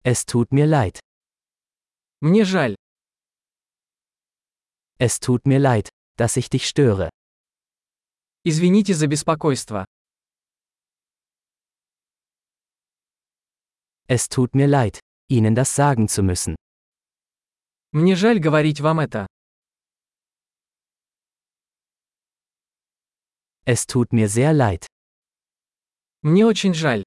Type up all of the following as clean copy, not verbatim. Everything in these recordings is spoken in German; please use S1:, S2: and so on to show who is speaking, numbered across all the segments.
S1: Es tut mir leid.
S2: Мне жаль.
S1: Es tut mir leid, dass ich dich störe.
S2: Извините за беспокойство.
S1: Es tut mir leid, Ihnen das sagen zu müssen.
S2: Мне жаль говорить вам это.
S1: Es tut mir sehr leid.
S2: Мне очень жаль.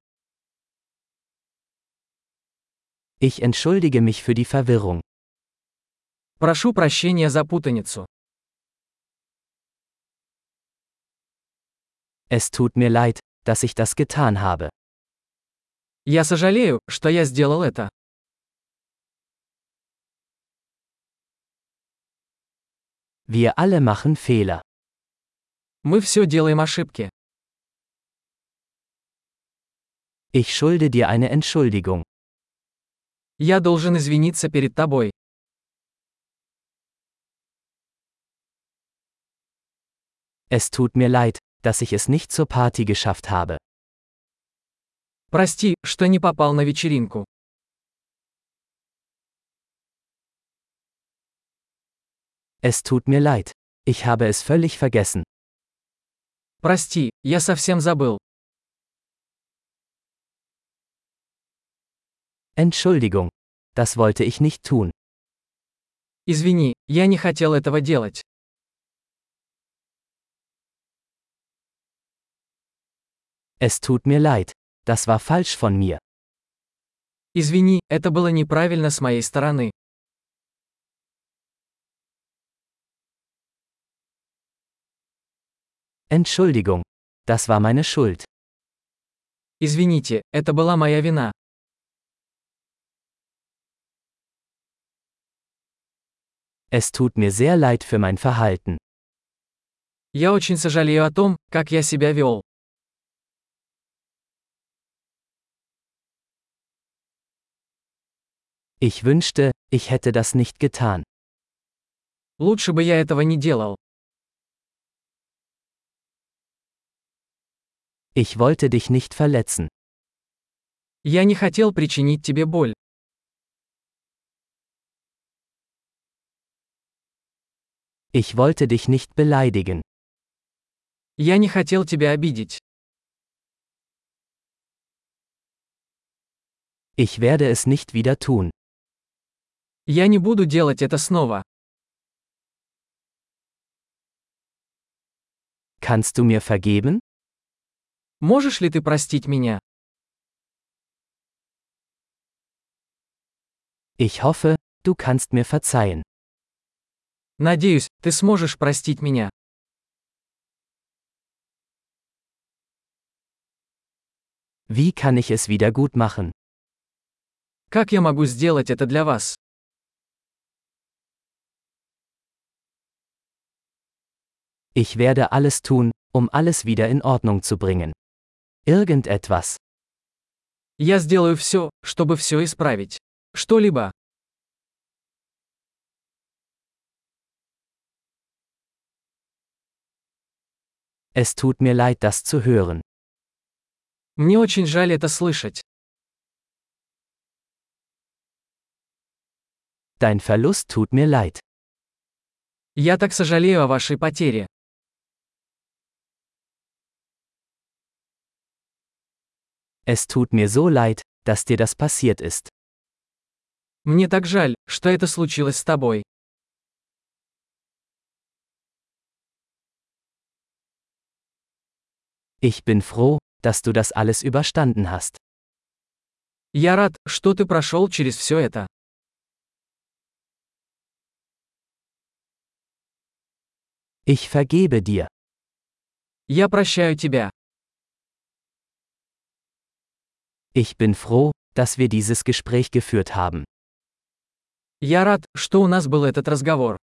S1: Ich entschuldige mich für die Verwirrung.
S2: Прошу прощения за путаницу.
S1: Es tut mir leid, dass ich das getan habe.
S2: Я сожалею, что я сделал это.
S1: Wir alle machen Fehler.
S2: Мы все делаем ошибки.
S1: Ich schulde dir eine Entschuldigung.
S2: Я должен извиниться перед тобой.
S1: Es tut mir leid, dass ich es nicht zur Party geschafft habe.
S2: Прости, что не попал на вечеринку.
S1: Es tut mir leid. Ich habe es völlig vergessen.
S2: Прости, я совсем забыл.
S1: Entschuldigung. Das wollte ich nicht tun.
S2: Извини, я не хотел этого делать.
S1: Es tut mir leid. Das war falsch von mir.
S2: Извини, это было неправильно с моей стороны.
S1: Entschuldigung. Das war meine Schuld.
S2: Извините, это была моя вина.
S1: Es tut mir sehr leid für mein Verhalten.
S2: Я очень сожалею о том, как я себя вел.
S1: Ich wünschte, ich hätte das nicht getan.
S2: Лучше бы я этого не делал.
S1: Ich wollte dich nicht verletzen.
S2: Я не хотел причинить тебе боль.
S1: Ich wollte dich nicht beleidigen.
S2: Я не хотел тебя обидеть.
S1: Ich werde es nicht wieder tun.
S2: Я не буду делать это снова.
S1: Kannst du mir vergeben?
S2: Можешь ли ты простить меня?
S1: Ich hoffe, du kannst mir verzeihen.
S2: Надеюсь, ты сможешь простить меня.
S1: Wie kann ich es wieder gut machen?
S2: Как я могу сделать это для вас?
S1: Ich werde alles tun, um alles wieder in Ordnung zu bringen. Irgendetwas.
S2: Я сделаю все, чтобы все исправить. Что-либо.
S1: Es tut mir leid, das zu hören.
S2: Мне очень жаль это слышать.
S1: Dein Verlust tut mir leid.
S2: Я так сожалею о вашей потере.
S1: Es tut mir so leid, dass dir das passiert ist.
S2: Мне так жаль, что это случилось с тобой.
S1: Ich bin froh, dass du das alles überstanden hast.
S2: Я рад, что ты прошел через все это.
S1: Ich vergebe dir.
S2: Я прощаю тебя.
S1: Ich bin froh, dass wir dieses Gespräch geführt haben.
S2: Я рад, что у нас был этот разговор.